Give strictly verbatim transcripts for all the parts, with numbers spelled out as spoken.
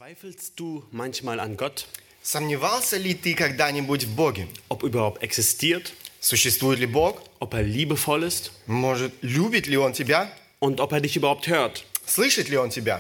Zweifelst du manchmal an Gott, Сомневался ли ты когда-нибудь в Боге? ob er überhaupt existiert, Существует ли Бог? ob er liebevoll ist Может, любит ли Он тебя? und ob er dich überhaupt hört? Слышит ли Он тебя?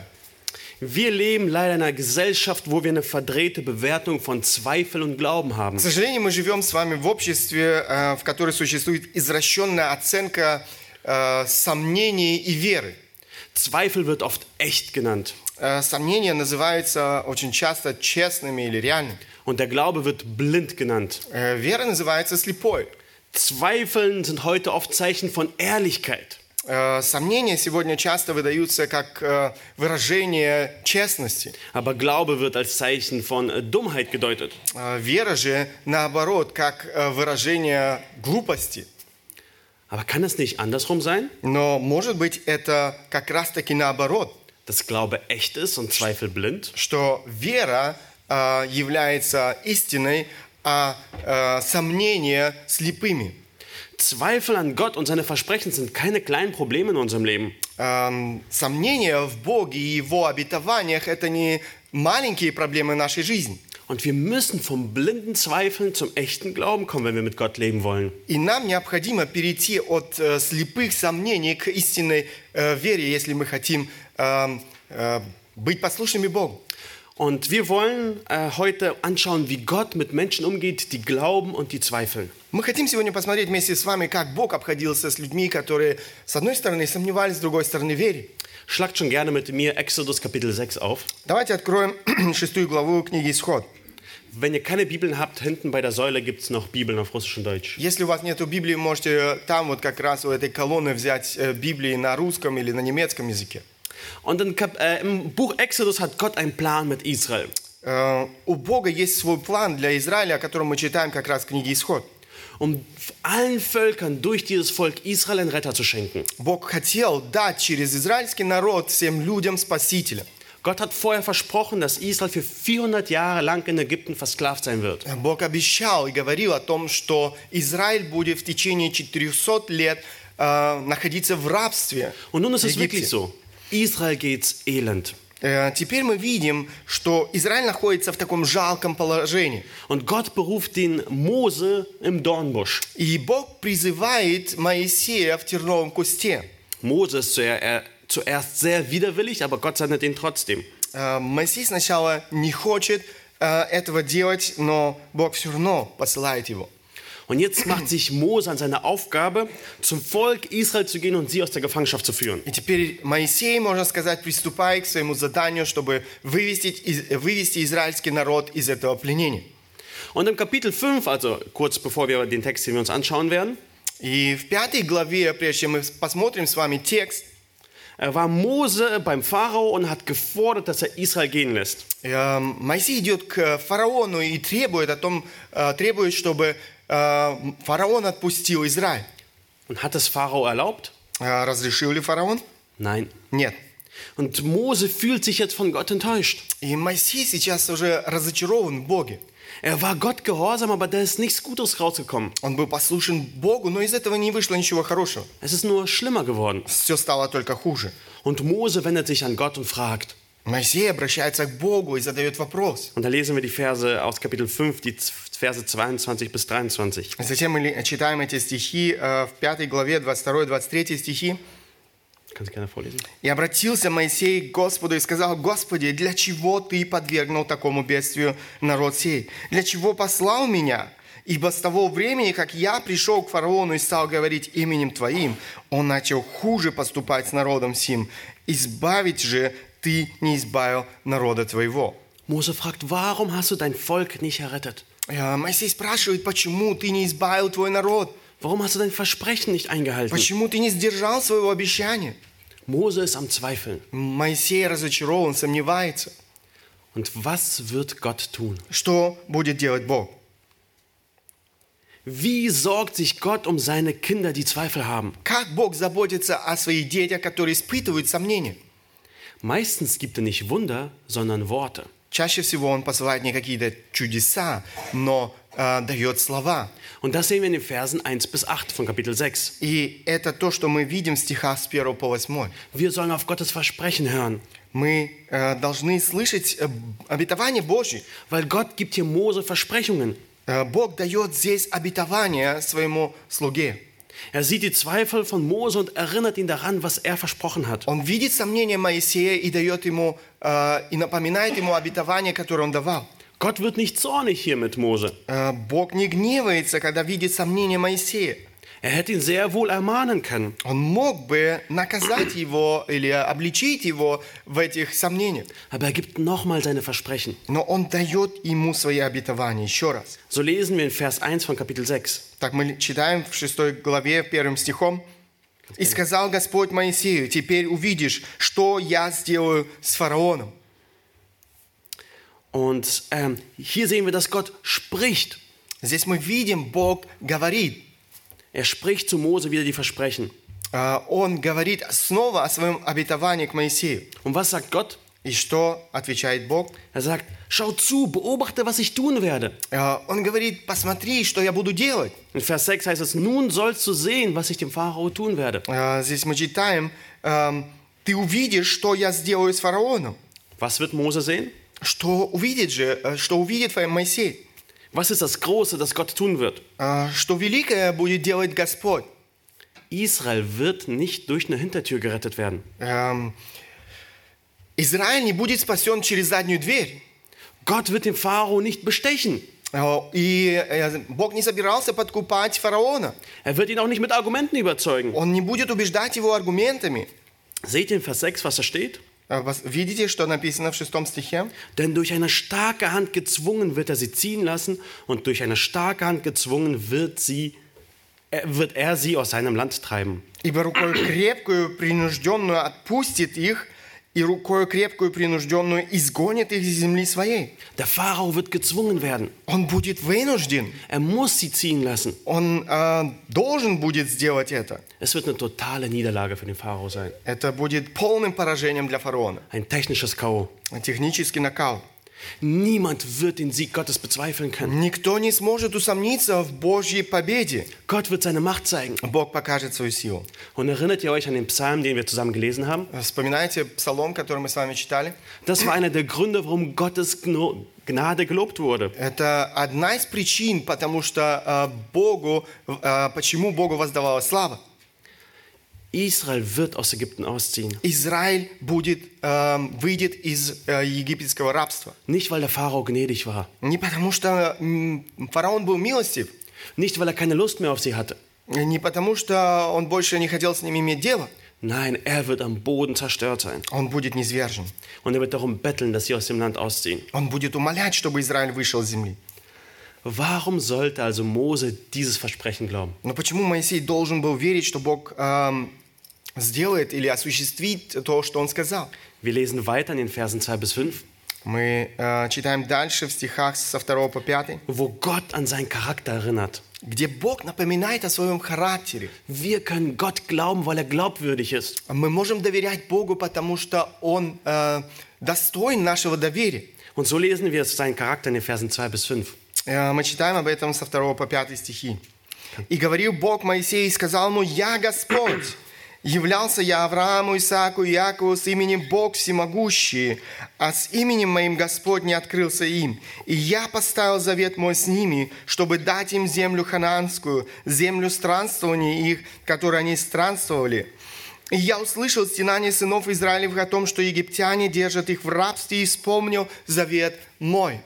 Wir leben leider in einer Gesellschaft, wo wir eine verdrehte Bewertung von Zweifel und Glauben haben. К сожалению, мы живем с вами в обществе, э, в котором существует извращенная оценка э, сомнений и веры. Zweifel wird oft echt genannt Э, Сомнения называются очень часто честными или реальными. und der Glaube wird blind genannt. Э, Вера называется слепой. Zweifeln sind heute oft Zeichen von Ehrlichkeit. Э, Сомнения сегодня часто выдаются как э, выражение честности. Aber Glaube wird als Zeichen von äh, Dummheit gedeutet. Э, Вера же, наоборот, как э, выражение глупости. Aber kann es nicht andersrum sein, Но, может быть, это как раз-таки наоборот, dass Glaube echt ist und Zweifel blind? что вера э, является истиной, а э, сомнения слепыми. Zweifel an Gott und seine Versprechen sind keine kleinen Probleme in unserem Leben. Эм, Сомнения в Боге и Его обетованиях – это не маленькие проблемы нашей жизни. Und wir müssen vom blinden Zweifeln zum echten Glauben kommen, wenn wir mit Gott leben wollen. И нам необходимо перейти от э, слепых сомнений к истинной э, вере, если мы хотим э, э, быть послушными Богу. Und wir wollen äh, heute anschauen, wie Gott mit Menschen umgeht, die glauben und die zweifeln. Мы хотим сегодня посмотреть вместе с вами, как Бог обходился с людьми, которые, с одной стороны, сомневались, с другой стороны, верили. Schlagt schon gerne mit mir Exodus Kapitel sechs auf. Давайте откроем шестую главу книги «Исход». Wenn ihr keine Bibeln habt, hinten bei der Säule gibt es noch Bibeln auf Russisch und Deutsch. Если у вас нет Библии, можете там вот как раз у этой колонны взять э, Библии на русском или на немецком языке. Und in Kap äh, im Buch Exodus hat Gott einen Plan mit Israel. Э, У Бога есть свой план для Израиля, о котором мы читаем как раз в книге «Исход». Um allen Völkern durch dieses Volk Israel einen Retter zu schenken. Бог хотел дать через израильский народ всем людям Спасителя. Gott hat vorher versprochen, dass Israel für vierhundert Jahre lang in Ägypten versklavt sein wird. Бог обещал и говорил о том, что Израиль будет в течение четырехсот лет э, находиться в рабстве. Und nun ist в es wirklich Египте. so. Israel geht's elend. Э, Теперь мы видим, что Израиль находится в таком жалком положении. Und Gott beruft den Mose im Dornbusch. И Бог призывает Моисея в терновом кусте. Mose ist zuer- er- zuerst sehr widerwillig, aber Gott sendet ihn trotzdem. Э, Моисей сначала не хочет э, этого делать, но Бог все равно посылает его. Und jetzt macht sich Mose an seine Aufgabe, zum Volk Israel zu gehen und sie aus der Gefangenschaft zu führen. И теперь Моисей, можно сказать, приступает к своему заданию, чтобы вывести, из- вывести израильский народ из этого пленения. Und im Kapitel fünf, also kurz bevor wir den Text, den wir uns anschauen werden, И в пятой главе, прежде чем мы посмотрим с вами текст, äh, war Mose beim Pharao und hat gefordert, dass er Israel gehen lässt. э, Моисей идет к фараону и требует о том, э, требует, чтобы э, фараон отпустил Израиль. Und hat es Pharao erlaubt? Э, Разрешил ли фараон? Nein. Нет. Und Mose fühlt sich jetzt von Gott enttäuscht. И Моисей сейчас уже разочарован в Боге. Er war Gott gehorsam, aber da ist nichts Gutes rausgekommen. Он был послушен Богу, но из этого не вышло ничего хорошего. Es ist nur schlimmer geworden. Все стало только хуже. Und Mose wendet sich an Gott und fragt. Моисей обращается к Богу и задает вопрос. Und da lesen wir die Verse aus Kapitel fünf, die Z- Verse zweiundzwanzig bis dreiundzwanzig. Затем мы ли- читаем эти стихи э, в пятой главе, двадцать второй двадцать третий стихи. Kannst du gerne vorlesen? «И обратился Моисей к Господу и сказал: Господи, для чего Ты подвергнул такому бедствию народ сей? Для чего послал меня? Ибо с того времени, как я пришел к фараону и стал говорить именем Твоим, он начал хуже поступать с народом сим. Избавить же Ты не избавил народа Твоего». Mose fragt, warum hast du dein Volk nicht errettet? Э, Моисей спрашивает, почему Ты не избавил Твой народ? Warum hast du dein Versprechen nicht eingehalten? Почему Ты не сдержал своего обещания? Mose ist am Zweifeln. Моисей разочарован, сомневается. Und was wird Gott tun? Что будет делать Бог? Wie sorgt sich Gott um seine Kinder, die Zweifel haben? Как Бог заботится о своих детях, которые испытывают сомнения? Meistens gibt er nicht Wunder, sondern Worte. Чаще всего Он посылает не какие-то чудеса, но э, дает слова. Und das sehen wir in den Versen eins bis acht von Kapitel sechs. И это то, что мы видим в стихах с первого по восьмой. Wir sollen auf Gottes Versprechen hören. Мы э, должны слышать э, обетование Божье. Weil Gott gibt hier Mose Versprechungen. Э, Бог дает здесь обетование своему слуге. Er sieht die Zweifel von Mose und erinnert ihn daran, was er versprochen hat. Он видит сомнения Моисея и дает ему, э, и напоминает ему обетование, которое он давал. Gott wird nicht zornig hier mit Mose. Э, Бог не гневается, когда видит сомнения Моисея. Er hätte ihn sehr wohl ermahnen können. Он мог бы наказать его или обличить его в этих сомнениях. Aber er gibt nochmal seine Versprechen. Но он дает ему свои обетования еще раз. So lesen wir in Vers eins von Kapitel sechs. Так мы читаем в шестой главе, первым стихом. «И сказал Господь Моисею, теперь увидишь, что я сделаю с фараоном». Und ähm, hier sehen wir, dass Gott spricht. Здесь мы видим, Бог говорит. Er spricht zu Mose wieder die Versprechen. Э, Он говорит снова о своем обетовании к Моисею. Und was sagt Gott? И что отвечает Бог? Er sagt, schau zu, beobachte, was ich tun werde. Э, Он говорит, посмотри, что я буду делать. In Vers sechs heißt es, nun sollst du sehen, was ich dem Pharao tun werde. Э, Здесь мы читаем, э, ты увидишь, что я сделаю с фараоном. Was wird Mose sehen? Что увидит же, э, что увидит Моисей? Was ist das Große, das Gott tun wird? Э, Что великое будет делать Господь? Israel wird nicht durch eine Hintertür gerettet werden. Эм, Израиль не будет спасен через заднюю дверь. Gott wird den Pharao nicht bestechen. Э, И э, Бог не собирался подкупать фараона. Er wird ihn auch nicht mit Argumenten überzeugen. Он не будет убеждать его аргументами. Seht ihr in Vers sechs, was da steht? Э, вас- Видите, что написано в шестом стихе? Denn durch eine starke Hand gezwungen wird er sie ziehen lassen und durch eine starke Hand gezwungen wird, sie, er, wird er sie aus seinem Land treiben. Ибо рукою крепкую, принужденную отпустит их, и рукою крепкую, принужденную изгонит их из земли своей. Der Pharao wird gezwungen werden. Он будет вынужден. Er muss sie ziehen lassen. Он э, должен будет сделать это. Es wird eine totale Niederlage für den Pharao sein. Это будет полным поражением для фараона. Ein technisches K O. Технический нокаут. Niemand wird den Sieg Gottes bezweifeln können. Никто не сможет усомниться в Божьей победе. Gott wird seine Macht zeigen. Бог покажет свою силу. Und erinnert ihr euch an den Psalm, den wir zusammen gelesen haben? Вспоминаете псалом, который мы с вами читали? Das war einer der Gründe, warum Gottes Gno- Gnade gelobt wurde. Это одна из причин, потому что э, Богу, э, почему Богу воздавалась слава. Israel wird aus Ägypten ausziehen. Израиль будет, э, выйдет из э, египетского рабства. Nicht, weil der Pharao gnädig war. Не потому что м, фараон был милостив, Nicht, weil er keine Lust mehr auf sie hatte. не потому что он больше не хотел с ними иметь дело. Nein, er wird am Boden zerstört sein. Он будет низвержен. Und er wird darum betteln, dass sie aus dem Land ausziehen. Он будет умолять, чтобы Израиль вышел с земли. Warum sollte also Mose dieses Versprechen glauben? Но почему Моисей должен был верить, что Бог эм, сделает или осуществит то, что он сказал? Wir lesen weiter in den Versen zwei bis fünf, Мы э, читаем дальше в стихах со второго по пятый, wo Gott an seinen Charakter erinnert. где Бог напоминает о своем характере. Wir können Gott glauben, weil er glaubwürdig ist. Мы можем доверять Богу, потому что Он э, достоин нашего доверия. Und so lesen wir seinen Charakter in den Versen zwei bis fünf. Э, Мы читаем об этом со второго по пятый стихи. «И говорил Бог Моисею, и сказал ему, я Господь. Являлся я Аврааму, Исааку и Якову с именем Бог Всемогущий, а с именем моим Господь не открылся им. И я поставил завет мой с ними, чтобы дать им землю ханаанскую, землю странствования их, которые они странствовали. И я услышал стенание сынов Израилевых о том, что египтяне держат их в рабстве, и вспомнил завет мой».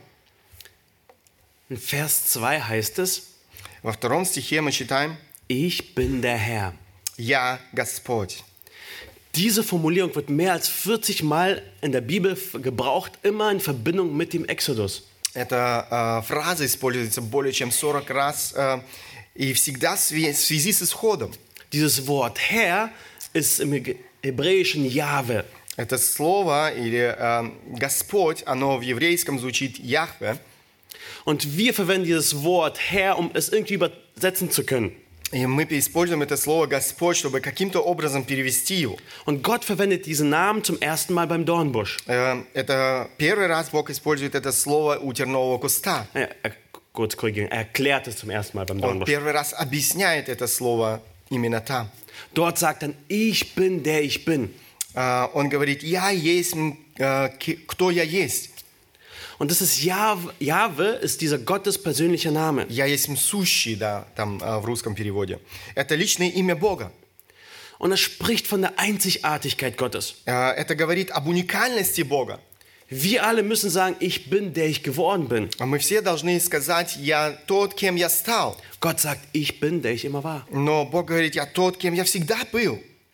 In Vers zwei heißt es, Во втором стихе мы читаем ich bin der Herr. «Я Господь». Diese Formulierung wird mehr als vierzig Mal in der Bibel gebraucht, immer in Verbindung mit dem Exodus. Эта э, фраза используется более чем сорок раз э, и всегда в све- в связи с исходом. Dieses Wort Herr ist im Hebräischen Jahwe. Это слово или э, Господь, оно в еврейском звучит Яхве. Und wir verwenden dieses Wort Herr, um es irgendwie übersetzen zu können. И мы используем это слово Господь, чтобы каким-то образом перевести его. Und Gott verwendet diesen Namen zum ersten Mal beim Dornbusch. Э, это первый раз Бог использует это слово у тернового куста. Er, er, kurz korrigieren, er erklärt es zum ersten Mal beim Он Dornbusch. первый раз объясняет это слово именно там. Dort sagt er, ich bin der ich bin. А, Он говорит, я есть, э, ки- кто я есть. Und das ist Jahwe, Jahwe ist dieser Gottes persönlicher Name. Я есть сущий, да, там э, в русском переводе. Это личное имя Бога. Und er spricht von der Einzigartigkeit Gottes. Э, Это говорит об уникальности Бога. Wir alle müssen sagen, ich bin, der ich geworden bin. А Мы все должны сказать, я тот, кем я стал. Gott sagt, ich bin, der ich immer war. Но Бог говорит, я тот, кем я всегда был.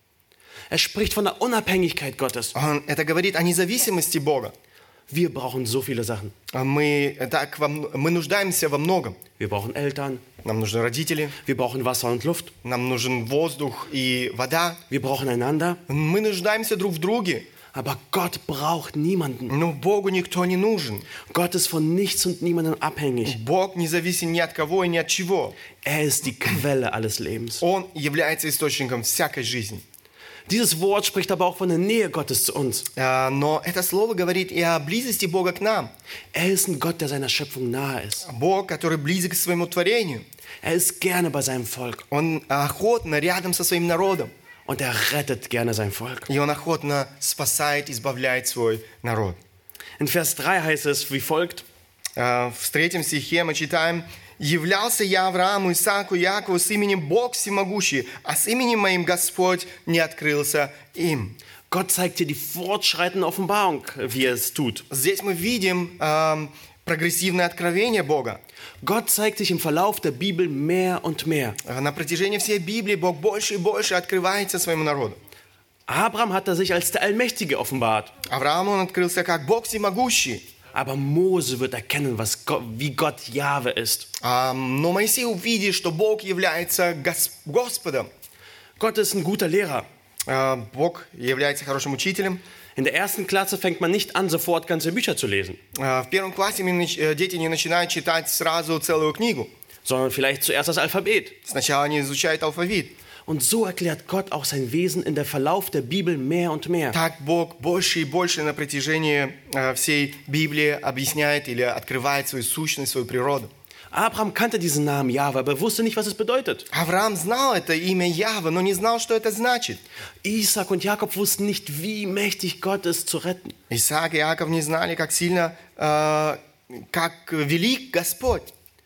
Er spricht von der Unabhängigkeit Gottes. Он, это говорит о независимости Бога. Wir brauchen so viele Sachen. А Мы, так, во м- мы нуждаемся во многом. Wir brauchen Eltern, Нам нужны родители, wir brauchen Wasser und Luft, нам нужен воздух и вода. wir brauchen einander. Мы нуждаемся друг в друге. Aber Gott braucht niemanden. Но Богу никто не нужен. Gott ist von nichts und niemandem abhängig. Бог не зависит ни от кого и ни от чего. Er ist die Quelle alles Lebens. Он является источником всякой жизни. Dieses Wort spricht aber auch von der Nähe Gottes zu uns. А, Но это слово говорит и о близости Бога к нам. Er ist ein Gott, der seiner Schöpfung nahe ist. Бог, который близок к своему творению. Er ist gerne bei seinem Volk. Он охотно рядом со своим народом. Und er rettet gerne sein Volk. И он охотно спасает, избавляет свой народ. In Vers drei heißt es wie folgt. А, В третьем стихе мы читаем: «Являлся я Аврааму, Исааку, Якову с именем Бог всемогущий, а с именем моим Господь не открылся им». Gott zeigt dir die fortschreitende Offenbarung, wie er es tut. Здесь мы видим эм, прогрессивное откровение Бога. Gott zeigt sich im Verlauf der Bibel mehr und mehr. А На протяжении всей Библии Бог больше и больше открывается своему народу. Abraham hat er sich als der Allmächtige offenbart. Аврааму он открылся как Бог всемогущий. Aber Mose wird erkennen, was Gott, wie Gott Jahwe ist. А, Но Моисей увидит, что Бог является Гос- Господом. Gott ist ein guter Lehrer. А, Бог является хорошим учителем. In der ersten Klasse fängt man nicht an, sofort ganze Bücher zu lesen, А, В первом классе мы нач- э, дети не начинают читать сразу целую книгу. sondern vielleicht zuerst das Alphabet. Сначала они изучают алфавит. Und so erklärt Gott auch sein Wesen in der Verlauf der Bibel mehr und mehr. Так Бог больше и больше на протяжении э, всей Библии объясняет или открывает свою сущность, свою природу. Abraham kannte diesen Namen Jahwe, aber wusste nicht, was es bedeutet. Авраам знал это имя Яхве, но не знал, что это значит. Isaac und Jakob wussten nicht, wie mächtig Gott ist zu retten. Исаак и Иаков не знали, как сильно, э, как велик Господь.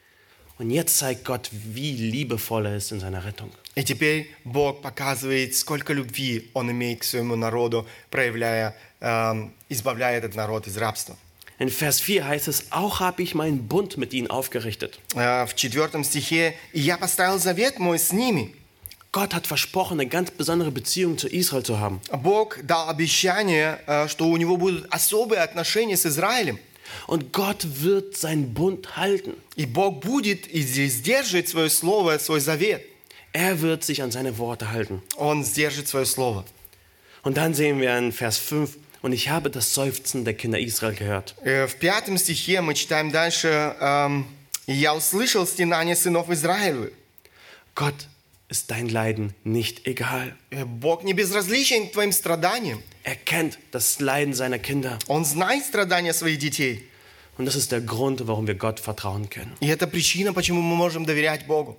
Und jetzt zeigt Gott, wie liebevoll er ist in seiner Rettung. И теперь Бог показывает, сколько любви Он имеет к своему народу, проявляя, э, избавляя этот народ из рабства. In Vers vier heißt es, auch habe ich meinen Bund mit ihnen aufgerichtet. Э, В четвертом стихе «И я поставил завет мой с ними». Gott hat versprochen, eine ganz besondere Beziehung zu Israel zu haben. Бог дал обещание, э, что у него будут особые отношения с Израилем. Und Gott wird seinen Bund halten. И Бог будет и сдержит свое слово, свой завет. Er wird sich an seine Worte halten. Он сдержит свое слово. Und dann sehen wir in Vers fünf, und ich habe das Seufzen der Kinder Israel gehört. Э, В пятом стихе мы читаем дальше: эм, «И я услышал стенание сынов Израилевых». Gott ist dein Leiden nicht egal. Э, Бог не безразличен к твоим страданиям. Er kennt das Leiden seiner Kinder. Он знает страдания своих детей. Und das ist der Grund, warum wir Gott vertrauen können. И это причина, почему мы можем доверять Богу.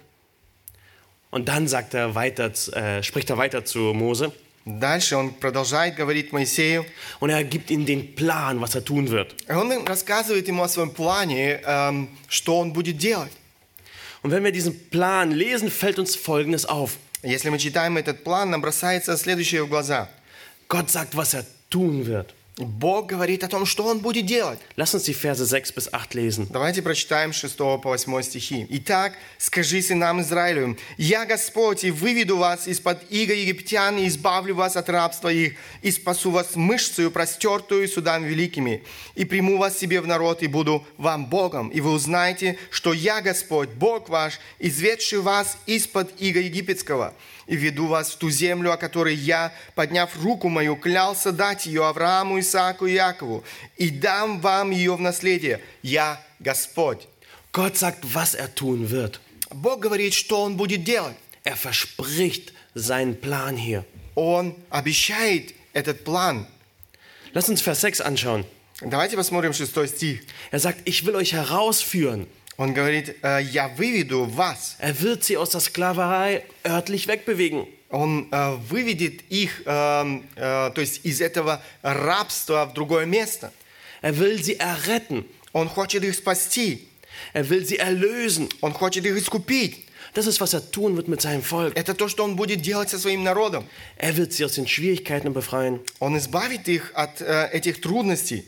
Und dann sagt er weiter, äh, spricht er weiter zu Mose. Дальше он продолжает говорить Моисею. Und er gibt ihm den Plan, was er tun wird. И он рассказывает ему о своем плане, эм, что он будет делать. Und wenn wir diesen Plan lesen, fällt uns Folgendes auf. Если мы читаем этот план, нам бросается следующее в глаза. Gott sagt, was er tun wird. Бог говорит о том, что Он будет делать. Lass uns die Verse sechs bis acht lesen. Давайте прочитаем с шестого по восьмой стихи. «Итак, скажи сынам Израилевым: Я Господь, и выведу вас из-под иго египтян, и избавлю вас от рабства их, и спасу вас мышцею, простертую судами великими, и приму вас себе в народ, и буду вам Богом, и вы узнаете, что я Господь, Бог ваш, изведший вас из-под иго египетского, и веду вас в ту землю, о которой я, подняв руку мою, клялся дать ее Аврааму, Исааку и Якову, и дам вам ее в наследие. Я Господь». Gott sagt, was er tun wird. Бог говорит, что Он будет делать. Er verspricht seinen Plan hier. Он обещает этот план. Lass uns Vers sechs anschauen. Давайте посмотрим шестой стих. Er sagt, ich will euch herausführen. Он говорит: «Я выведу вас». Er wird sie aus der Sklaverei örtlich wegbewegen. Он э, выведет их, э, э, то есть из этого рабства в другое место. Er will sie erretten. Он хочет их спасти. Er will sie erlösen. Он хочет их искупить. Das ist, was er tun wird mit seinem Volk. Это то, что он будет делать со своим народом. Er wird sie aus den Schwierigkeiten befreien. Он избавит их от äh, этих трудностей.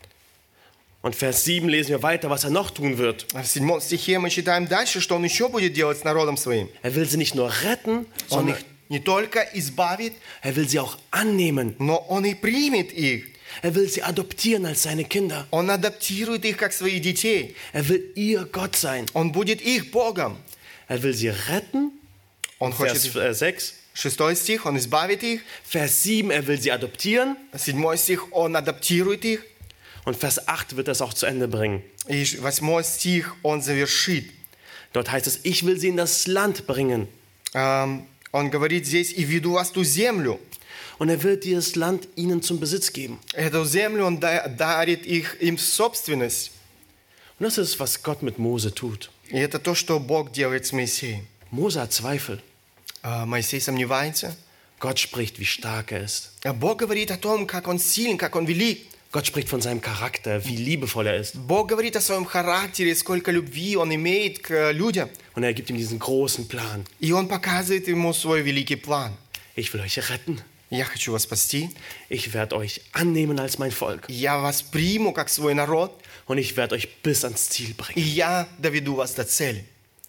Und Vers sieben lesen wir weiter, was er noch tun wird. В седьмом стихе мы читаем дальше, что он еще будет делать с народом своим. Er will sie nicht nur retten, Он sondern их не только избавит, er will sie auch annehmen. но он и примет их. Er will sie adoptieren als seine Kinder. Он адаптирует их как своих детей. Er will ihr Gott sein. Он будет их Богом. Er will sie retten. Он Vers хочет... äh, sechs. Шестой стих, он избавит их. Vers sieben, er will sie adoptieren. Седьмой стих, он адаптирует их. Und Vers acht wird das auch zu Ende bringen. И восьмой стих, он завершит. Dort heißt es, ich will sie in das Land bringen. Ähm, он говорит здесь, и веду вас ту землю. Und er wird dieses Land ihnen zum Besitz geben. Эту землю он да- дарит их им в собственность. Und das ist, was Gott mit Mose tut. И это то, что Бог делает с Моисеем. Mose hat Zweifel. А Моисей сомневается. Gott spricht, wie stark er ist. А Бог говорит о том, как он силен, как он велик. Gott spricht von seinem Charakter, wie liebevoll er ist. Бог говорит о своем характере, сколько любви он имеет к людям. Und er gibt ihm diesen großen Plan. И он показывает ему свой великий план. Ich will euch retten. Я хочу вас спасти. Ich werde euch annehmen als mein Volk. Я вас приму как свой народ. Und ich werde euch bis ans Ziel И bringen. я доведу вас до цели.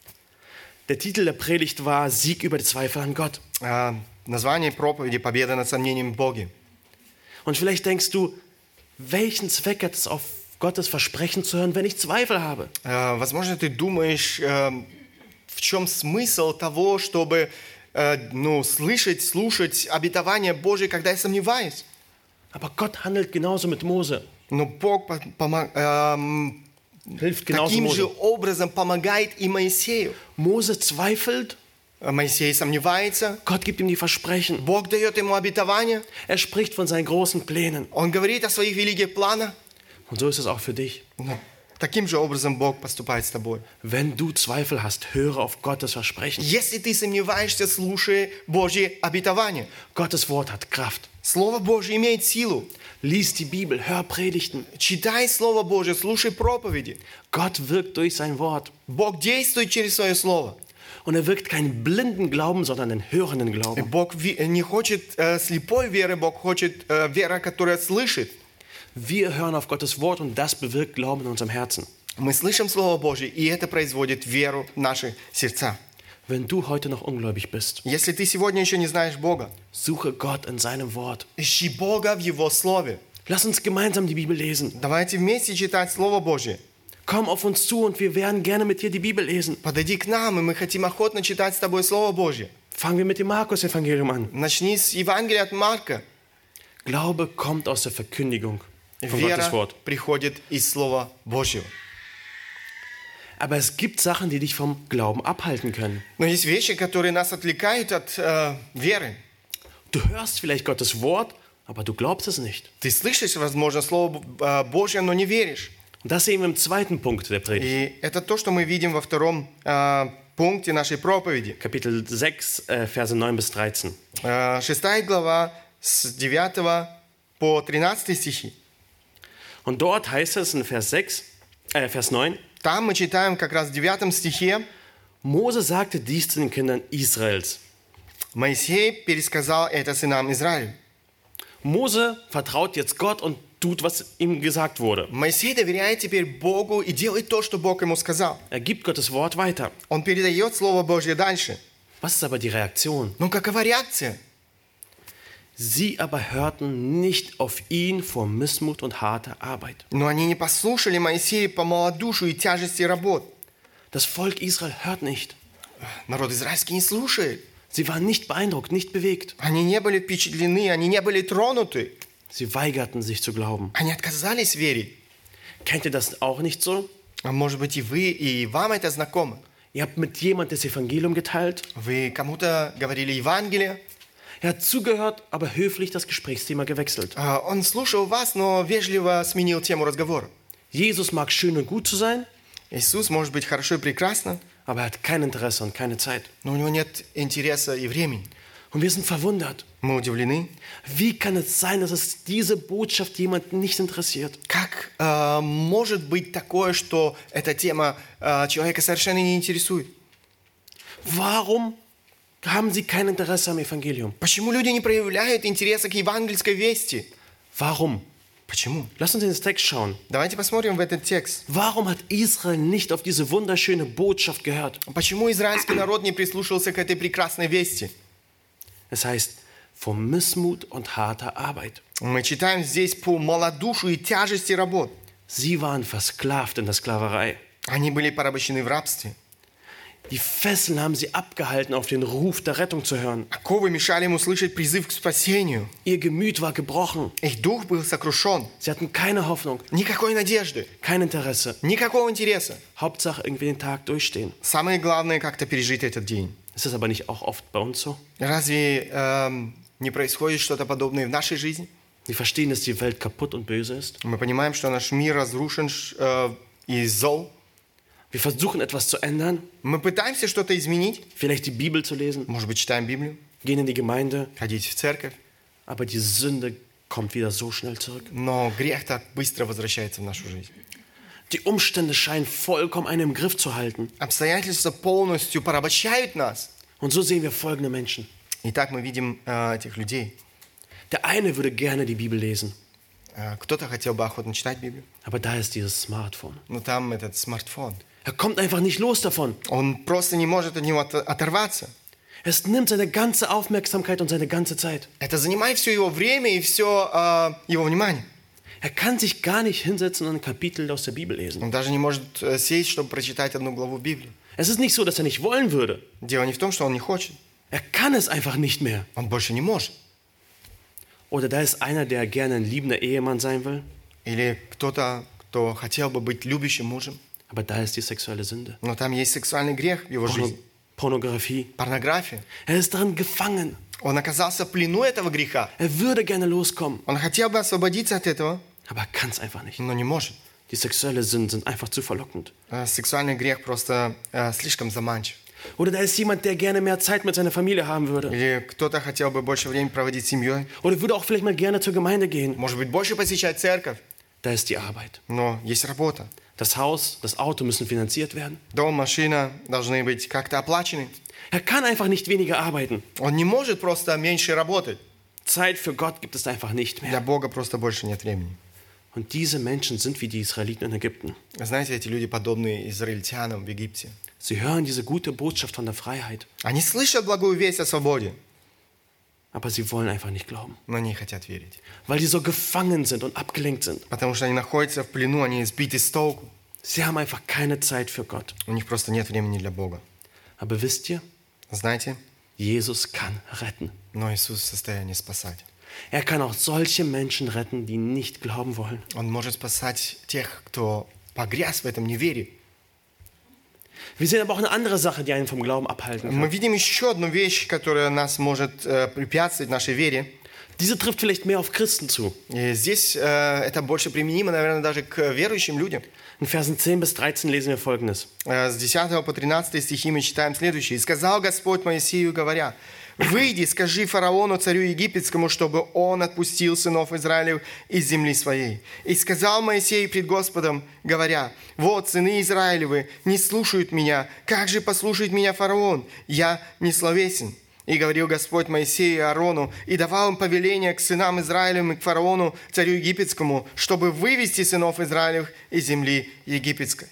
Der Titel der Predigt war Sieg über die Zweifel an Gott. А, название проповеди «Победа над сомнением в Боге». Und vielleicht denkst du, welchen Zweck hat es, auf Gottes Versprechen zu hören, wenn ich Zweifel habe? А, возможно, ты думаешь, э, в чем смысл того, чтобы э, ну, слышать, слушать обетование Божие, когда я сомневаюсь. Aber Gott handelt genauso mit Mose. Но Бог по- помо- эм, Hilft genauso таким же Mose. образом помогает и Моисею. Mose zweifelt, Моисей сомневается, Gott gibt ihm die Versprechen. Бог дает ему обетование, Er spricht von seinen großen Plänen. он говорит о своих великих планах. Und so ist es auch für dich. Но таким же образом Бог поступает с тобой. Wenn du Zweifel hast, höre auf Gottes Versprechen. Если ты сомневаешься, слушай Божье обетование. Gottes Wort hat Kraft. Слово Божье имеет силу. Lies die Bibel, hör Predigten. Читай Слово Божье, слушай проповеди. Gott wirkt durch sein Wort. Бог действует через свое Слово. Und er wirkt keinen blinden Glauben, sondern einen hörenden И Glauben. Бог ви- не хочет э, слепой веры, Бог хочет э, вера, которая слышит. Wir hören auf Gottes Wort und das bewirkt Glauben in unserem Herzen. Мы слышим Слово Божье, и это производит веру в наши сердца. Wenn du heute noch ungläubig bist, Если ты сегодня еще не знаешь Бога, suche Gott in seinem Wort. ищи Бога в Его Слове. Lass uns gemeinsam die Bibel lesen. Давайте вместе читать Слово Божье. Komm auf uns zu und wir werden gerne mit dir die Bibel lesen. Подойди к нам, и мы хотим охотно читать с тобой Слово Божье. Fangen wir mit dem Markus-Evangelium an. Начни с Евангелия от Марка. Glaube kommt aus der Verkündigung von Gottes Вера Wort. приходит из Слова Божьего. Aber es gibt Sachen, die dich vom Glauben abhalten können. Но есть вещи, которые нас отвлекают от э, веры. Du hörst vielleicht Gottes Wort, aber du glaubst es nicht. Ты слышишь, возможно, Слово э, Божье, но не веришь. Und das sehen wir im zweiten Punkt der Predigt. И это то, что мы видим во втором э, пункте нашей проповеди. Kapitel sechs, äh, Verse neun bis dreizehn. Э, шестая глава с девятого по тринадцатый стихи. Und dort heißt es in Vers sechs, äh, Vers neun, Там мы читаем как раз в девятом стихе. Mose sagte dies zu den Kindern Israels. Моисей пересказал это сынам Израиля. Mose vertraut jetzt Gott und tut, was ihm gesagt wurde. Моисей доверяет теперь Богу и делает то, что Бог ему сказал. Er gibt Gottes Wort weiter. Он передает Слово Божье дальше. Was ist aber die Reaktion? Но какова реакция? Sie aber hörten nicht auf ihn vor Missmut und harter Arbeit. Но они не послушали Моисея по малодушию и тяжести работ. Das Volk Israel hört nicht. Народ израильский не слушает. Sie waren nicht beeindruckt, nicht bewegt. Они не были впечатлены, они не были тронуты. Sie weigerten sich zu glauben. Они отказались верить. Kennt ihr das auch nicht so? А может быть и вы, и вам это знакомо. Ihr habt mit jemandem das Evangelium geteilt. Вы кому-то говорили Евангелие. Er hat zugehört, aber höflich das Gesprächsthema gewechselt. а, Он слушал вас, но вежливо сменил тему разговора. Jesus mag schön und gut zu sein, Иисус может быть хорошо и прекрасно, aber er hat kein Interesse und keine Zeit. но у него нет интереса и времени. Und wir sind verwundert. Мы удивлены. Wie kann es sein, dass es diese Botschaft jemanden nicht interessiert? Как э, может быть такое, что эта тема э, человека совершенно не интересует? Warum haben sie kein Interesse am Evangelium? Почему люди не проявляют интереса к евангельской вести? Warum? Почему? Lass uns in den Text schauen. Давайте посмотрим в этот текст. Warum hat Israel nicht auf diese wunderschöne Botschaft gehört? Почему израильский народ не прислушался к этой прекрасной вести? Es heißt, vor Missmut und harter Arbeit. Мы читаем здесь по малодушию и тяжести работ. Sie waren versklavt in der Sklaverei. Они были порабощены в рабстве. Die Fesseln haben sie abgehalten, auf den Ruf der Rettung zu hören. Оковы мешали им услышать призыв к спасению. Ihr Gemüt war gebrochen. Их дух был сокрушен. Sie hatten keine Hoffnung, Никакой надежды, kein Interesse. никакого интереса. Hauptsache irgendwie den Tag durchstehen. Самое главное, как-то пережить этот день. Ist das aber nicht auch oft bei uns so? Разве эм, не происходит что-то подобное в нашей жизни? Wir verstehen, dass die Welt kaputt und böse ist. Мы понимаем, что наш мир разрушен э, и зол. Wir versuchen etwas zu ändern, Мы пытаемся что-то изменить. vielleicht die Bibel zu lesen, Может быть, читаем Библию, gehen in die Gemeinde, ходить в церковь. aber die Sünde kommt wieder so schnell zurück. Но грех так быстро возвращается в нашу жизнь. Die Umstände scheinen vollkommen einen im Griff zu halten. Обстоятельства полностью порабощают нас. Und so sehen wir folgende Menschen. И так мы видим э, этих людей. Der eine würde gerne die Bibel lesen, Э, кто-то хотел бы охотно читать Библию, aber da ist dieses Smartphone. но там этот смартфон. Er kommt einfach nicht los davon. Он просто не может от него от- оторваться. Es nimmt seine ganze Aufmerksamkeit und seine ganze Zeit. Это занимает все его время и все э, его внимание. Er kann sich gar nicht hinsetzen und ein Kapitel aus der Bibel lesen. Он даже не может э, сесть, чтобы прочитать одну главу Библии. Es ist nicht so, dass er nicht wollen würde. Дело не в том, что он не хочет. Er kann es einfach nicht mehr. Он больше не может. Oder da ist einer, der gerne ein liebender Ehemann sein will, Или кто-то, кто хотел бы быть любящим мужем, aber da ist die sexuelle Sünde. но там есть сексуальный грех в его Porno жизни. Pornografie. Порнография. Er ist darin gefangen. Он оказался в плену этого греха. Er würde gerne loskommen, Он хотел бы освободиться от этого, aber er kann es einfach nicht. но не может. Die sexuelle Sünden sind einfach zu verlockend. Э, Сексуальный грех просто э, слишком заманчив. Oder da ist jemand, der gerne mehr Zeit mit seiner Familie haben würde. Или кто-то хотел бы больше времени проводить с семьей. Oder würde auch vielleicht mal gerne zur Gemeinde gehen. Может быть, больше посещать церковь. Da ist die Arbeit. Но есть работа. Das Haus, das Auto müssen finanziert werden. Дом, машина должны быть как-то оплачены. Er kann einfach nicht weniger arbeiten. Он не может просто меньше работать. Zeit für Gott gibt es einfach nicht Для mehr. Бога просто больше нет времени. Und diese Menschen sind wie die Israeliten in Ägypten. Знаете, эти люди подобны израильтянам в Египте. Sie hören diese gute Botschaft von der Freiheit, Они слышат благую весть о свободе, aber sie wollen einfach nicht glauben, но не хотят верить. weil sie so gefangen sind und abgelenkt sind. Потому что они находятся в плену, они сбиты с толку. Sie haben einfach keine Zeit für Gott. У них просто нет времени для Бога. Aber wisst ihr, Знаете, Jesus kann retten. но Иисус в состоянии спасать. Er kann auch solche Menschen retten, die nicht glauben wollen. Он может спасать тех, кто погряз в этом неверии. Wir sehen aber auch eine andere Sache, die einen vom Glauben abhalten Мы kann. видим еще одну вещь, которая нас может э, препятствовать нашей вере. Diese trifft vielleicht mehr auf Christen zu. И здесь э, это больше применимо, наверное, даже к верующим людям. In Versen zehn bis dreizehn lesen wir Folgendes. Э, С десятого по тринадцатый стихи мы читаем следующее. «И сказал Господь Моисею, говоря, выйди, скажи фараону, царю египетскому, чтобы он отпустил сынов Израилев из земли своей. И сказал Моисей пред Господом, говоря, вот сыны Израилевы не слушают меня, как же послушает меня фараон? Я не словесен». И говорил Господь Моисею и Аарону, и давал им повеление к сынам Израилевым и к фараону, царю египетскому, чтобы вывести сынов Израилевых из земли египетской.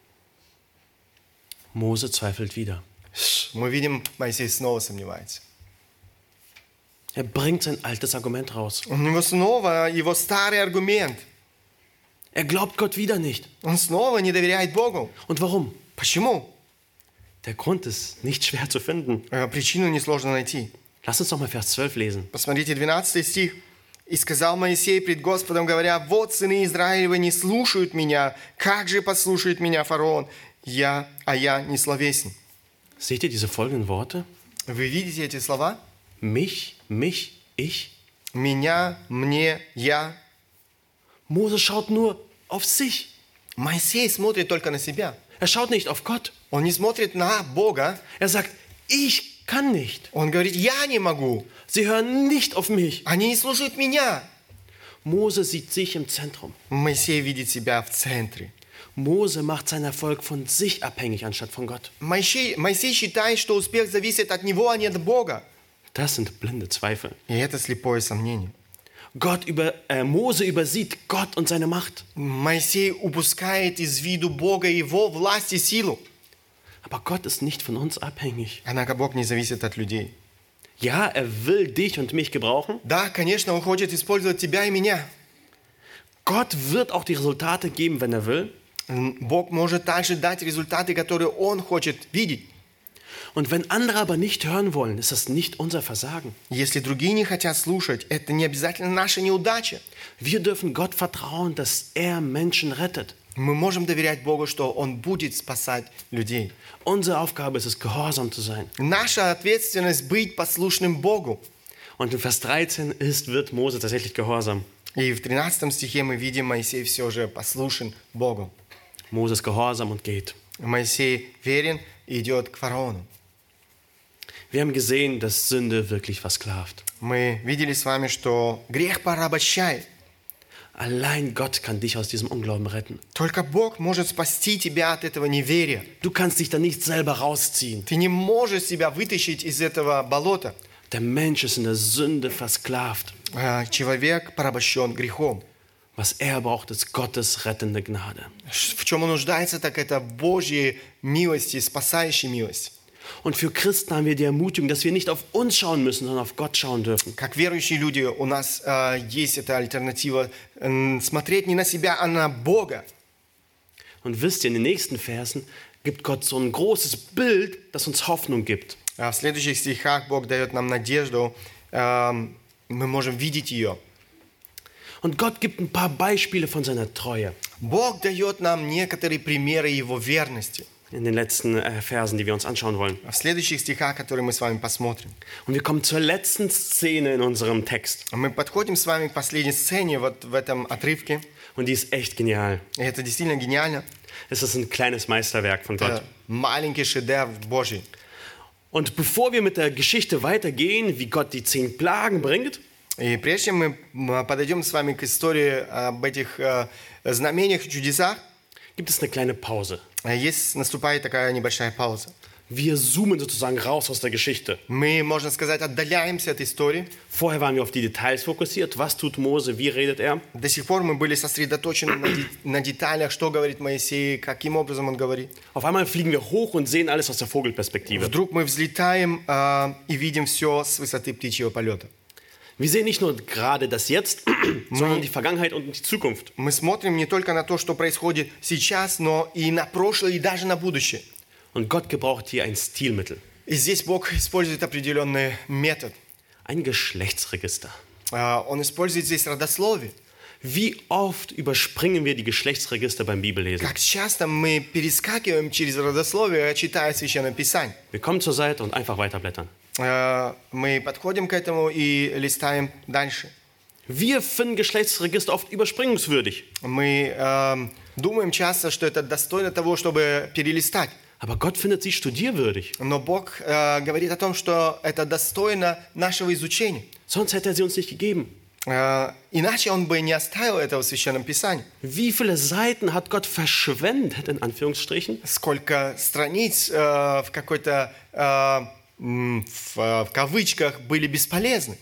Mose zweifelt wieder. Мы видим, Моисей снова сомневается. Er bringt sein altes Argument raus. У него снова его старый аргумент. Er glaubt Gott wieder nicht. Он снова не доверяет Богу. Und warum? Почему? Der Grund ist nicht schwer zu finden. Э, Причину несложно найти. Lass uns doch mal Vers zwölf lesen. Посмотрите, двенадцатый стих. «И сказал Моисей пред Господом, говоря, вот сыны Израилевы не слушают меня, как же послушает меня фараон? Я, а я не словесен». Seht ihr diese folgenden Worte? Вы видите эти слова? Mich, mich, ich. Меня, мне, я. Mose schaut nur auf sich. Моисей смотрит только на себя. Er schaut nicht auf Gott. Он не смотрит на Бога. Er sagt, ich kann nicht. Он говорит, я не могу. Sie hören nicht auf mich. Они не слушают меня. Mose sieht sich im Zentrum. Моисей видит себя в центре. Mose macht seinen Erfolg von sich abhängig anstatt von Gott. Моисей, Моисей считает, что успех зависит от него, а не от Бога. Das sind blinde Zweifel. И это слепое сомнение. Gott über, äh, Mose übersieht Gott und seine Macht. Моисей упускает из виду Бога, Его власть и силу. Aber Gott ist nicht von uns abhängig. Однако Бог не зависит от людей. Ja, er will dich und mich gebrauchen. Да, конечно, Он хочет использовать тебя и меня. Gott wird auch die Resultate geben, wenn er will. Бог может также дать результаты, которые Он хочет видеть. Und wenn andere aber nicht hören wollen, ist das nicht unser Versagen. Если другие не хотят слушать, это не обязательно наша неудача. Wir dürfen Gott vertrauen, dass er Menschen rettet. Мы можем доверять Богу, что Он будет спасать людей. Unsere Aufgabe ist es, gehorsam zu sein. Наша ответственность быть послушным Богу. Und in Vers dreizehn ist, wird Mose tatsächlich gehorsam. И в тринадцатом стихе мы видим, Моисей все же послушен Богу. Mose ist gehorsam und geht. Моисей верен и идет к фараону. Wir haben gesehen, dass Sünde wirklich versklavt. Мы видели с вами, что грех порабощает. Allein Gott kann dich aus diesem Unglauben retten. Только Бог может спасти тебя от этого неверия. Du kannst dich da nicht selber rausziehen. Ты не можешь себя вытащить из этого болота. Der Mensch ist in der Sünde versklavt. Человек порабощен грехом. Was er braucht, ist Gottes rettende Gnade. В чем он нуждается, так это Божьей милости, спасающей милости. Und für Christen haben wir die Ermutigung, dass wir nicht auf uns schauen müssen, sondern auf Gott schauen dürfen. Как верующие люди у нас äh, есть эта альтернатива äh, смотреть не на себя, а на Бога. Und wisst ihr, in den nächsten Versen gibt Gott so ein großes Bild, das uns Hoffnung gibt. В следующих стихах Бог дает нам надежду, äh, мы можем видеть ее. Und Gott gibt ein paar Beispiele von seiner Treue. Бог дает нам некоторые примеры Его верности. In den letzten äh, Versen, die wir uns anschauen wollen. В следующих стихах, которые мы с вами посмотрим. Und wir kommen zur letzten Szene in unserem Text. Мы подходим с вами к последней сцене вот в этом отрывке. Und die ist echt genial. И это действительно гениально. Es ist ein kleines Meisterwerk von Gott. Это маленький шедевр Божий. Und bevor wir mit der Geschichte weitergehen, wie Gott die zehn Plagen bringt, И прежде чем мы подойдем с вами к истории об этих э, знамениях и чудесах, gibt es eine kleine Pause. есть, наступает такая небольшая пауза. Wir zoomen sozusagen raus aus der Geschichte. Мы, можно сказать, отдаляемся от истории. Vorher waren wir auf die Details fokussiert. Was tut Mose? Wie redet er? До сих пор мы были сосредоточены на, де- на деталях, что говорит Моисей, каким образом он говорит. Auf einmal fliegen wir hoch und sehen alles aus der Vogelperspektive. Вдруг мы взлетаем э, и видим все с высоты птичьего полета. Wir sehen nicht nur gerade das Jetzt, sondern die Vergangenheit und die Zukunft. Мы смотрим не только на то, что происходит сейчас, но и на прошлое, и даже на будущее. Und Gott gebraucht hier ein Stilmittel, И здесь Бог использует определенный метод. ein Geschlechtsregister. Э, Он использует здесь родословие. Wie oft überspringen wir die Geschlechtsregister beim Bibellesen? Как часто мы перескакиваем через родословие, читая Священное Писание. Wir kommen zur Seite und einfach weiterblättern. Э, Мы подходим к этому и листаем дальше. Wir finden Geschlechtsregister oft überspringungswürdig. Мы э, думаем часто, что это достойно того, чтобы перелистать. Aber Gott findet sie studierwürdig. Но Бог э, говорит о том, что это достойно нашего изучения. Sonst hätte er sie uns nicht gegeben. Э, Иначе Он бы не оставил этого в Священном Писании. Wie viele Seiten hat Gott verschwendet, in Anführungsstrichen, Сколько страниц э, в какой-то, э, м, в, в кавычках, были бесполезны.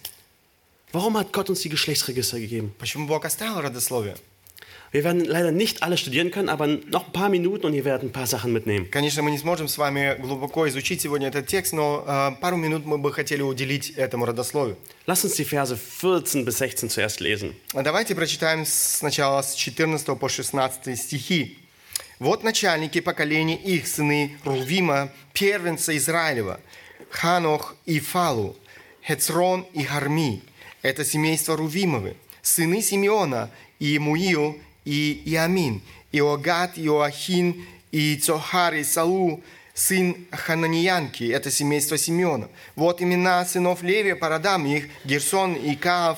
warum hat Gott uns die Geschlechtsregister gegeben? Почему Бог оставил родословие? Wir werden leider nicht alle studieren können, aber noch ein paar Minuten und ihr werdet ein paar Sachen mitnehmen. Конечно, мы не сможем с вами глубоко изучить сегодня этот текст, но э, пару минут мы бы хотели уделить этому родословию. Lasst uns die Verse vierzehn bis sechzehn zuerst lesen. Давайте прочитаем сначала с четырнадцатого по шестнадцатый стихи. «Вот начальники поколений их, сыны Рувима, первенца Израилева, Ханох и Фалу, Хецрон и Харми. Это семейство Рувимовы, сыны Симеона, и Муил, и Иамин, Иогат, Иоахин, и Цохар, и Салу, сын Хананиянки, это семейство Симеона. Вот имена сынов Левия по родам их, Герсон, и Каав,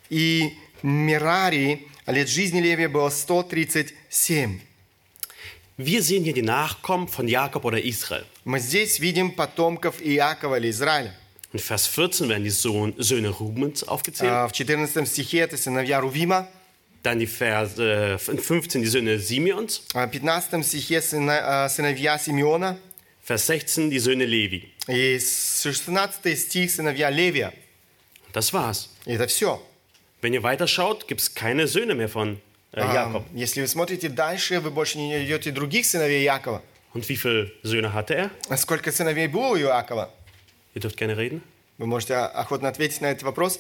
и Мерари. Лет жизни Левия было сто тридцать семь». Wir sehen hier die Nachkommen von Jakob oder Israel. Мы здесь видим потомков Иакова или Израиля. In Vers vierzehn werden die Sohn, Söhne Rubens aufgezählt. А, В четырнадцатом стихе это сыновья Рувима, Dann die Verse in fünfzehn die Söhne Simeons. а в пятнадцатом стихе сына- а, сыновья Симеона, Vers sechzehn die Söhne Levi. и шестнадцатый стих сыновья Левия. Das war's. И это все. Wenn ihr weiterschaut, gibt es keine Söhne mehr von äh, Jakob. Если вы смотрите дальше, вы больше не найдете других сыновей Якова. Und wie viele Söhne hatte er? А сколько сыновей было у Иакова? Ihr dürft gerne reden. Вы можете охотно ответить на этот вопрос.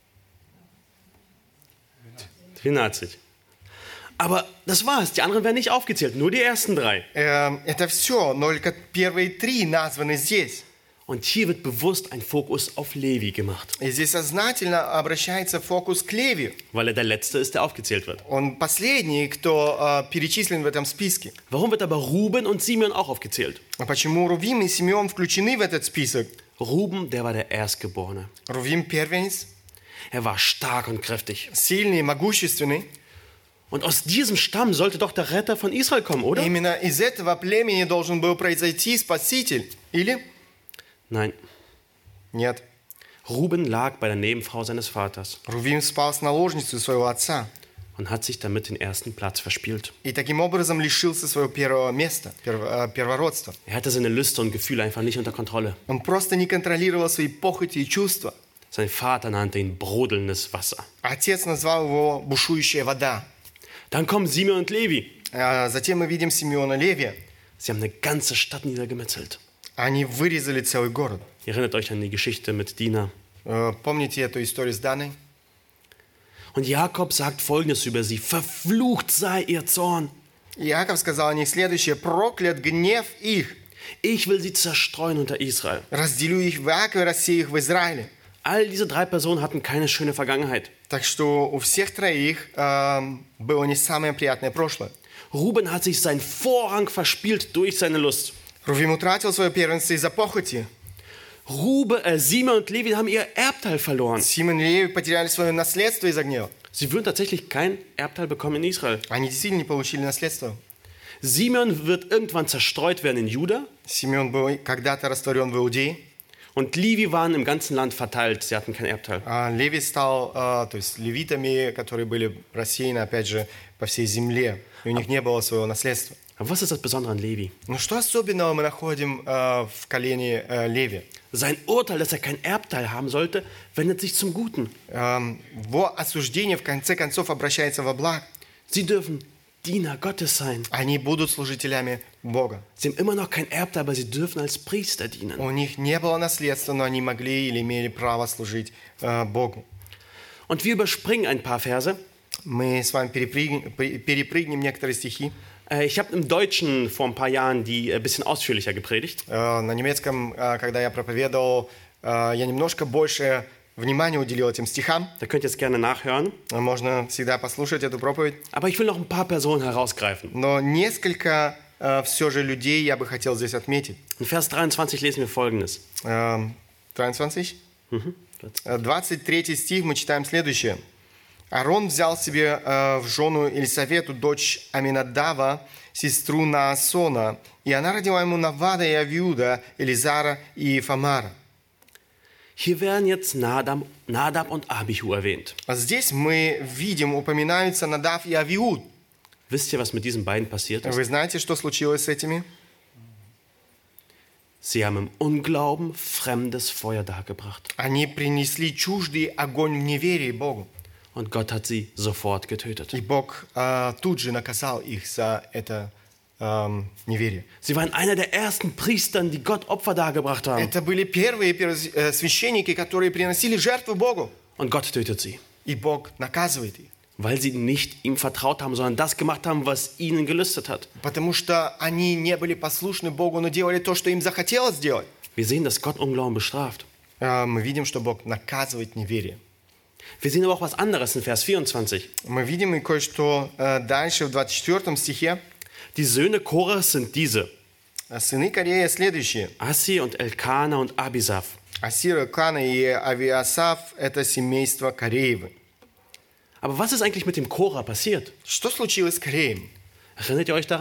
zwölf. Aber das war's. Die anderen werden nicht aufgezählt. Nur die ersten drei. Эм, Это все, но только первые три названы здесь. Und hier wird bewusst ein Fokus auf Levi gemacht, И здесь сознательно обращается фокус к Леви. weil er der Letzte ist, der aufgezählt wird. Он последний, кто э, перечислен в этом списке. Warum wird aber Ruben und Simeon auch aufgezählt? А почему Рувим и Симеон включены в этот список? Ruben, der war der Erstgeborene. Рувим первенец, Er war stark und kräftig. сильный, могущественный. Und aus diesem Stamm sollte doch der Retter von Israel kommen, oder? Именно из этого племени должен был произойти Спаситель. Или? Nein. Нет. Ruben lag bei der Nebenfrau seines Vaters Рувим спал с наложницей своего отца. und hat sich damit den ersten Platz verspielt. И таким образом лишился своего первого места, перво- э, первородства. Er hatte seine Lüste und Gefühle einfach nicht unter Kontrolle. Он просто не контролировал свои похоти и чувства. Sein Vater nannte ihn brodelndes Wasser. Отец назвал его «бушующая вода». Dann kommen Simeon und Levi. А затем мы видим Симеона Левия. Sie haben eine ganze Stadt niedergemetzelt. Они вырезали целый город. Ihr erinnert euch an die Geschichte mit Dina. Э, Помните эту историю с Даной? Und Jakob sagt Folgendes über sie: Verflucht sei ihr Zorn. Иаков сказал о них следующее: «Проклят гнев их, Ich will sie zerstreuen unter Israel. разделю их в Иакове, рассею их в Израиле». All diese drei Personen hatten keine schöne Vergangenheit. Так что у всех троих эм, было не самое приятное прошлое. Ruben hat sich seinen Vorrang verspielt durch seine Lust. Рувим утратил свое первенство из-за похоти. Rube, äh, Simeon und Levi haben ihr Erbteil verloren. Симон и Леви потеряли свое наследство из-за гнева. Sie würden tatsächlich kein Erbteil bekommen in Israel. Они действительно не получили наследство. Simeon wird irgendwann zerstreut werden in Juda Симеон был когда-то растворен в Иудее, und Levi waren im ganzen Land verteilt. Sie hatten kein Erbteil. а Леви стал, э, то есть левитами, которые были рассеяны, опять же, по всей земле. И у них не было своего наследства. Aber was ist das Besondere an Levi? Но что особенного мы находим э, в колене э, Леви? Sein Urteil, dass er kein Erbteil haben sollte, wendet sich zum Guten. Эм, Его осуждение в конце концов обращается во благо. Sie dürfen Diener Gottes sein. Они будут служителями Бога. Sie haben immer noch kein Erbteil, aber sie dürfen als Priester dienen. У них не было наследства, но они могли или имели право служить э, Богу. Und wir überspringen ein paar Verse. Мы с вами перепрыгнем, перепрыгнем некоторые стихи. Äh, Ich habe im Deutschen vor ein paar Jahren die ein bisschen ausführlicher gepredigt. Э, На немецком, э, когда я проповедовал, э, я немножко больше внимания уделил этим стихам. Da könnt ihr es gerne nachhören. Можно всегда послушать эту проповедь. Aber ich will noch ein paar Personen herausgreifen. Но несколько э, все же людей я бы хотел здесь отметить. In Vers dreiundzwanzig lesen wir Folgendes. Э, двадцать? Э, двадцать третий стих мы читаем следующее. «Аарон взял себе э, в жену Елисавету, дочь Аминадава, сестру Наасона, и она родила ему Навада и Авиуда, Элизара и Фамара». Hier werden jetzt Nadab, Nadab und Abihu erwähnt. А здесь мы видим, упоминаются Надав и Авиуд. Wisst ihr, was mit diesen beiden passiert ist? Вы знаете, что случилось с этими? Sie haben im Unglauben fremdes Feuer dargebracht. Они принесли чуждый огонь в неверии Богу. Und Gott hat sie sofort getötet. И Бог э, тут же наказал их за это эм, неверие. Sie waren einer der ersten Priestern, die Gott Opfer dargebracht haben. Это были первые перв- э, священники, которые приносили жертву Богу. Und Gott tötet sie, И Бог наказывает их. weil sie nicht ihm vertraut haben, sondern das gemacht haben, was ihnen gelüstet hat. Потому что они не были послушны Богу, но делали то, что им захотелось сделать. Wir sehen, dass Gott Unglauben bestraft. Э, мы видим, что Бог наказывает неверие. Wir sehen aber auch was anderes in Vers vierundzwanzig. Мы видим и кое-что э, дальше в двадцать четвёртом стихе. Die Söhne Korahs sind diese: А сыны Корея следующие. Асси und Elkana und Abisaf. Асира, Кана и Авиасав – это семейство Кореевы. Aber was ist eigentlich mit dem Korah passiert? Что случилось с Кореем? Erinnert ihr euch daran?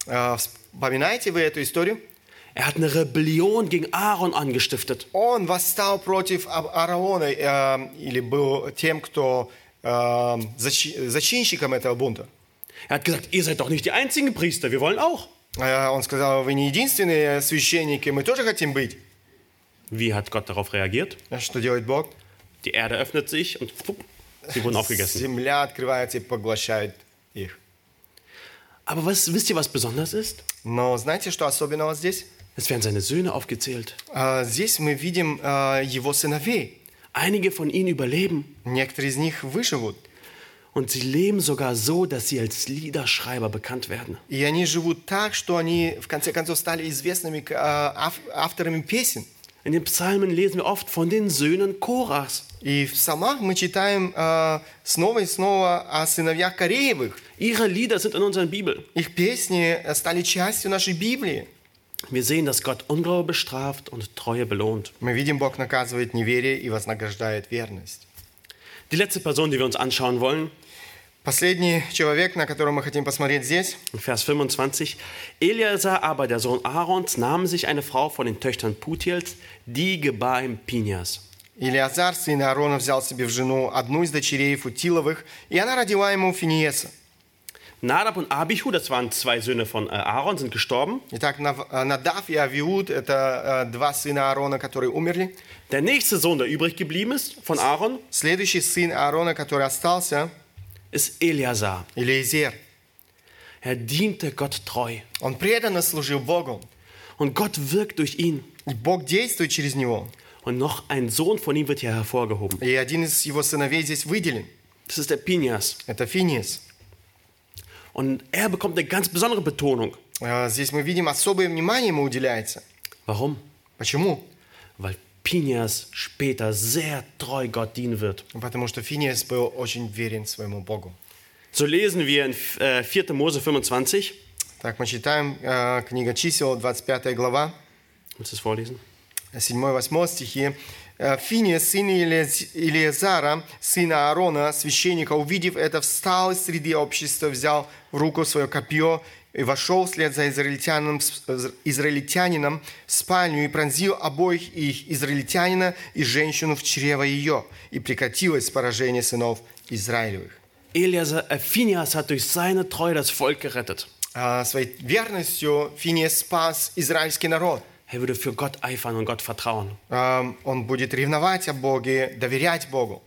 Э, Вспоминаете вы эту историю? Er hat eine Rebellion gegen Aaron angestiftet. Он восстал против А- Аарона, э, или был тем, кто э, защи- зачинщиком этого бунта. Er hat gesagt, ihr seid doch nicht die einzigen Priester, wir wollen auch. Э, Он сказал, вы не единственные священники, мы тоже хотим быть. Wie hat Gott darauf reagiert? А что делает Бог? Die Erde öffnet sich und pup, sie wurden aufgegessen. Земля открывается и поглощает их. Aber was, wisst ihr, was besonders ist? Но знаете, что особенного здесь? Es werden seine Söhne aufgezählt. Э, Здесь мы видим э, его сыновей. Einige von ihnen überleben Некоторые из них выживут. und sie leben sogar so, dass sie als Liederschreiber bekannt werden. И они живут так, что они в конце концов стали известными э, ав- авторами песен. In den Psalmen lesen wir oft von den Söhnen Korachs. И в псалмах мы читаем э, снова и снова о сыновьях Кореевых. Ihre Lieder sind in unserer Bibel. Их песни э, стали частью нашей Библии. Wir sehen, dass Gott Unglaube bestraft und Treue belohnt. Мы видим, Бог наказывает неверие и вознаграждает верность. Die letzte Person, die wir uns anschauen wollen, Последний человек, на которого мы хотим посмотреть здесь, in Vers fünfundzwanzig. Eleazar aber, der Sohn Aarons, nahm sich eine Frau von den Töchtern Putiels, die gebar ihm Pinias. Илиазар, сын Аарона, взял себе в жену одну из дочерей Футиловых, и она родила ему Финиеса. Nadab und Abihu, das waren zwei Söhne von äh, Aaron, sind gestorben. Итак, Нав- э, Надав и Авиуд – это э, два сына Аарона, которые умерли. Der nächste Sohn, der übrig geblieben ist von Aaron, Следующий сын Аарона, который остался, ist Eleazar. Элиезер. Er diente Gott treu. Он преданно служил Богу, Und Gott wirkt durch ihn. и Бог действует через него. Und noch ein Sohn von ihm wird hier hervorgehoben. И один из его сыновей здесь выделен. Das ist der Pinias. Это Финиес. Und er bekommt eine ganz besondere Betonung. Э, Здесь мы видим, особое внимание ему уделяется. Warum? Почему? Weil Pinias später sehr treu Gott dienen wird. Потому что Финиес был очень верен своему Богу. So lesen wir in äh, vierter Mose fünfundzwanzig. Так, мы читаем э, книга чисел, двадцать пятая глава, Willst du es vorlesen? седьмой-восьмой стихи. «Э, Финиес, сын Илиез- Илиезара, сына Аарона, священника, увидев это, встал из среды общества, взял в руку свое копье и вошел вслед за израильтянином, израильтянином в спальню и пронзил обоих их, израильтянина и женщину в чрево ее, и прекратилось поражение сынов Израилевых». Eleazar, äh, Phinehas hat durch seine Treue das Volk gerettet. А, Своей верностью Финиес спас израильский народ. Er würde für Gott eifern und Gott vertrauen. А, Он будет ревновать о Боге, доверять Богу.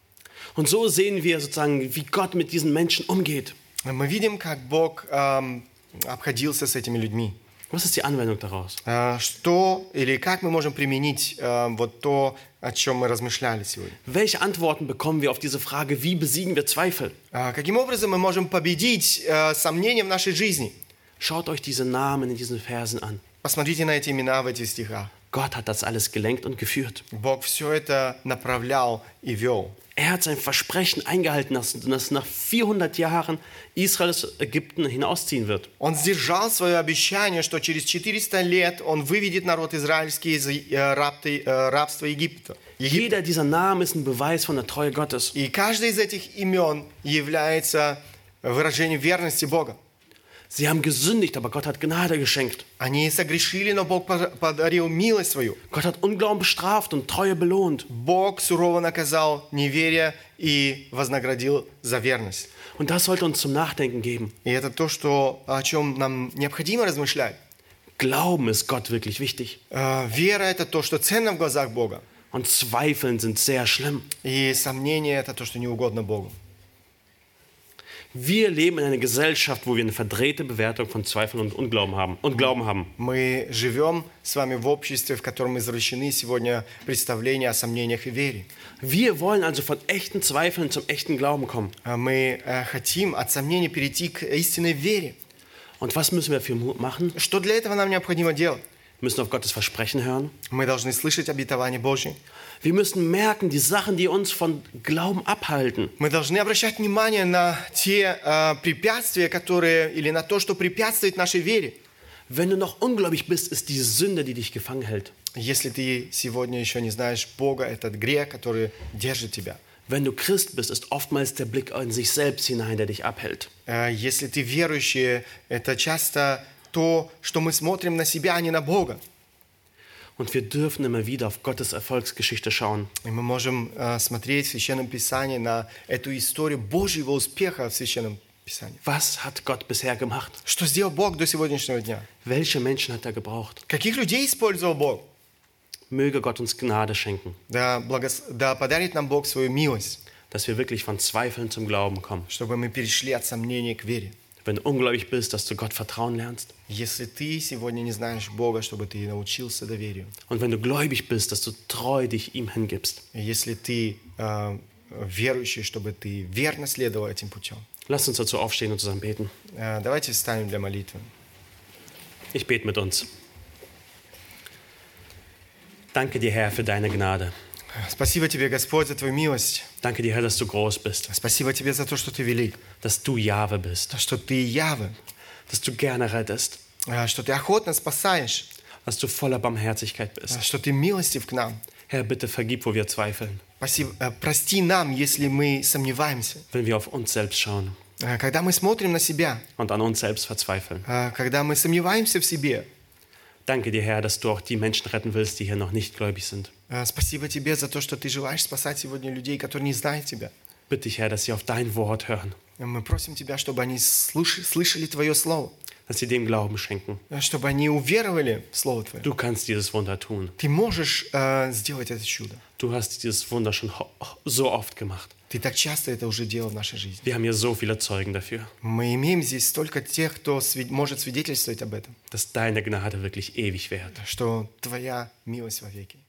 Und so sehen wir sozusagen, wie Gott mit diesen Menschen umgeht. Мы видим, как Бог эм, обходился с этими людьми. Was ist die Anwendung daraus? Э, Что или как мы можем применить э, вот то, о чем мы размышляли сегодня? Welche Antworten bekommen wir auf diese Frage, wie besiegen wir Zweifel? Э, Каким образом мы можем победить э, сомнения в нашей жизни? Schaut euch diese Namen in diesen Versen an. Посмотрите на эти имена в этих стихах. Gott hat das alles gelenkt und geführt. Бог все это направлял и вел. Er hat sein Versprechen eingehalten, dass, dass nach vierhundert Jahren Israel aus Ägypten hinausziehen wird. Он сдержал свое обещание, что через четыреста лет Он выведет народ израильский из э, рабты- э, рабства Египта. Египта. Jeder dieser Namen ist ein Beweis von der Treue Gottes. И каждый из этих имен является выражением верности Бога. Sie haben gesündigt, aber Gott hat Gnade geschenkt. Они согрешили, но Бог подарил милость свою. Gott hat Unglauben bestraft und Treue belohnt. Бог сурово наказал неверие и вознаградил за верность. Und das sollte uns zum Nachdenken geben. И это то, что, о чем нам необходимо размышлять. Glauben ist Gott wirklich wichtig. Э, Вера – это то, что ценно в глазах Бога. Und Zweifeln sind sehr schlimm. И сомнение – это то, что не угодно Богу. Wir leben in einer Gesellschaft, wo wir eine verdrehte Bewertung von Zweifeln und Unglauben haben und Glauben haben. Мы живем с вами в обществе, в котором извращены сегодня представления о сомнениях и вере. Wir wollen also von echten Zweifeln zum echten Glauben kommen. А Мы э, хотим от сомнений перейти к истинной вере. Und was müssen wir für Mut machen? Что для этого нам необходимо делать? Wir müssen auf Gottes Versprechen hören. Мы должны слышать обетование Божье. Wir müssen merken, die Sachen, die uns von Glauben abhalten, Мы должны обращать внимание на те э, препятствия, которые, или на то, что препятствует нашей вере. wenn du noch ungläubig bist, ist die Sünde, die dich gefangen hält. Если ты сегодня еще не знаешь Бога, этот грех, который держит тебя. Wenn du Christ bist, ist oftmals der Blick in sich selbst hinein, der dich abhält. Э, Если ты верующий, это часто то, что мы смотрим на себя, а не на Бога. Und wir dürfen immer wieder auf Gottes Erfolgsgeschichte schauen. И мы можем э, смотреть в Священном Писании на эту историю Божьего успеха в Священном Писании. Was hat Gott bisher gemacht? Что сделал Бог до сегодняшнего дня? Welche Menschen hat er gebraucht? Каких людей использовал Бог? Möge Gott uns Gnade schenken, Да, благос... да подарит нам Бог свою милость, dass wir wirklich von Zweifeln zum Glauben kommen. чтобы мы перешли от сомнения к вере. Wenn du ungläubig bist, dass du Gott vertrauen lernst. Если ты сегодня не знаешь Бога, чтобы ты научился доверию. Und wenn du gläubig bist, dass du treu dich ihm hingibst. Если ты э, верующий, чтобы ты верно следовал этим путем. Lass uns dazu aufstehen und zusammen beten. Э, давайте встанем для молитвы. Ich bete mit uns. Danke dir, Herr, für deine Gnade. Спасибо тебе, Господь, за твою милость. Danke dir, Herr, dass du groß bist, Спасибо тебе за то, что ты велик, dass du Jahwe bist, что ты Яве, dass du gerne rettest, э, что ты охотно спасаешь, dass du voller Barmherzigkeit э, bist. что ты милостив к нам. Herr, bitte vergib, wo wir zweifeln, Спасибо, э, прости нам, если мы сомневаемся. wenn wir auf uns selbst schauen Э, Когда мы смотрим на себя, und an uns selbst verzweifeln. э, когда мы сомневаемся в себе. Danke dir, Herr, dass du auch die Menschen retten willst, die hier noch nicht gläubig sind. Э, Спасибо тебе за то, что ты желаешь спасать сегодня людей, которые не знают тебя. Bitte dich, Herr, dass sie auf dein Wort hören, Э, Мы просим тебя, чтобы они слуш- слышали твое слово, dass sie dem Glauben schenken. э, чтобы они уверовали в слово твое. Du kannst dieses Wunder tun. Ты можешь э, сделать это чудо. Du hast dieses Wunder schon ho- so oft gemacht. Ты так часто это уже делал в нашей жизни. Wir haben hier so viele Zeugen dafür, Мы имеем здесь столько тех, кто свид- может свидетельствовать об этом, dass deine Gnade wirklich ewig währt. что твоя милость вовеки.